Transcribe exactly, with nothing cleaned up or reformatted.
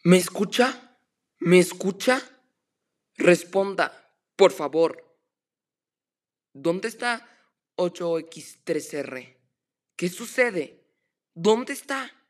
¿Me escucha? ¿Me escucha? Responda, por favor. ¿Dónde está ocho equis tres erre? ¿Qué sucede? ¿Dónde está?